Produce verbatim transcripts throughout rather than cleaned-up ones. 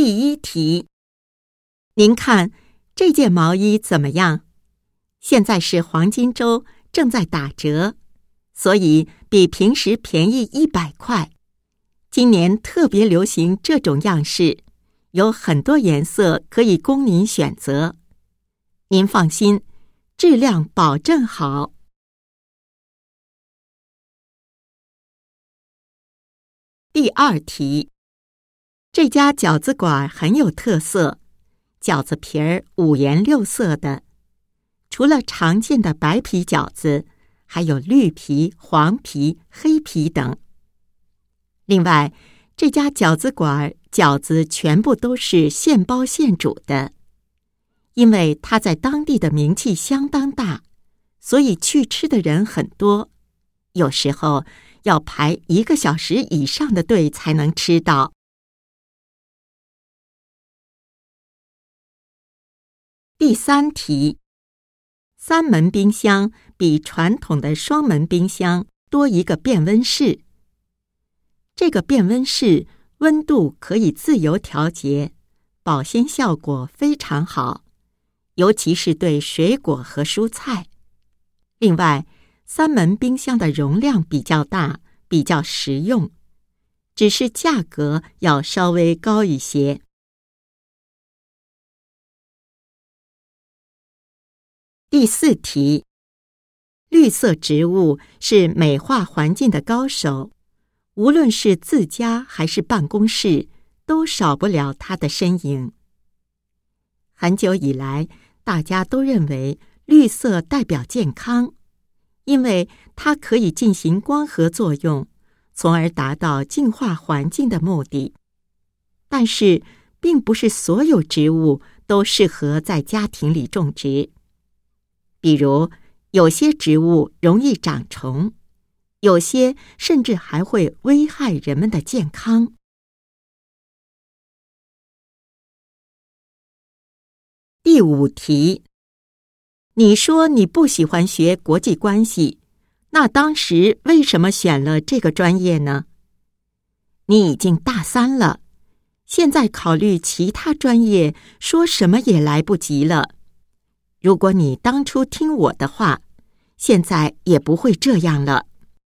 第一题，您看这件毛衣怎么样？现在是黄金周，正在打折，所以比平时便宜一百块。今年特别流行这种样式，有很多颜色可以供您选择。您放心，质量保证好。第二题，这家饺子馆很有特色，饺子皮儿五颜六色的，除了常见的白皮饺子，还有绿皮、黄皮、黑皮等。另外，这家饺子馆饺子全部都是现包现煮的，因为它在当地的名气相当大，所以去吃的人很多，有时候要排一个小时以上的队才能吃到。第三题，三门冰箱比传统的双门冰箱多一个变温室。这个变温室温度可以自由调节，保鲜效果非常好，尤其是对水果和蔬菜。另外，三门冰箱的容量比较大，比较实用，只是价格要稍微高一些。第四题，绿色植物是美化环境的高手，无论是自家还是办公室，都少不了它的身影。很久以来，大家都认为绿色代表健康，因为它可以进行光合作用，从而达到净化环境的目的。但是，并不是所有植物都适合在家庭里种植。比如，有些植物容易长虫，有些甚至还会危害人们的健康。第五题，你说你不喜欢学国际关系，那当时为什么选了这个专业呢？你已经大三了，现在考虑其他专业，说什么也来不及了。如果你当初听我的话，现在也不会这样了。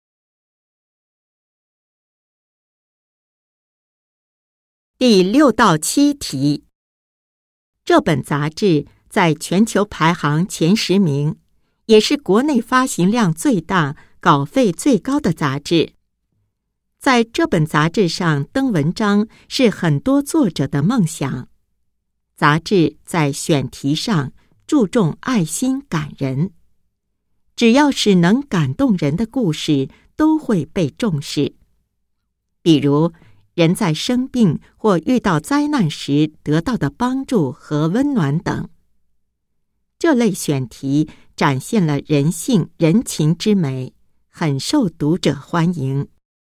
第六到七题，这本杂志在全球排行前十名，也是国内发行量最大、稿费最高的杂志。在这本杂志上登文章是很多作者的梦想。杂志在选题上注重爱心感人，只要是能感动人的故事都会被重视。比如，人在生病或遇到灾难时得到的帮助和温暖等。这类选题展现了人性人情之美，很受读者欢迎。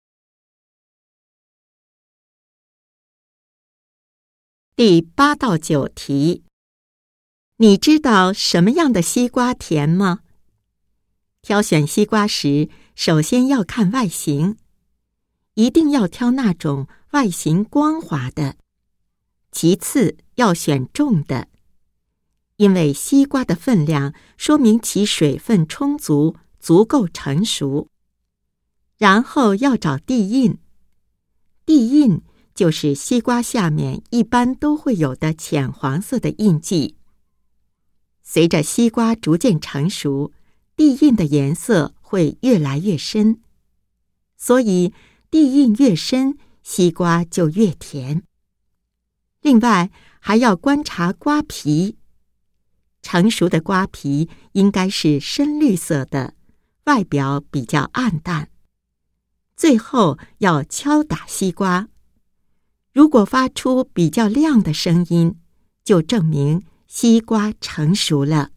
第八到九题，你知道什么样的西瓜甜吗？挑选西瓜时，首先要看外形，一定要挑那种外形光滑的。其次要选重的，因为西瓜的分量说明其水分充足，足够成熟。然后要找地印，地印就是西瓜下面一般都会有的浅黄色的印记。随着西瓜逐渐成熟，地印的颜色会越来越深，所以地印越深，西瓜就越甜。另外，还要观察瓜皮，成熟的瓜皮应该是深绿色的，外表比较暗淡。最后要敲打西瓜，如果发出比较亮的声音，就证明西瓜成熟了。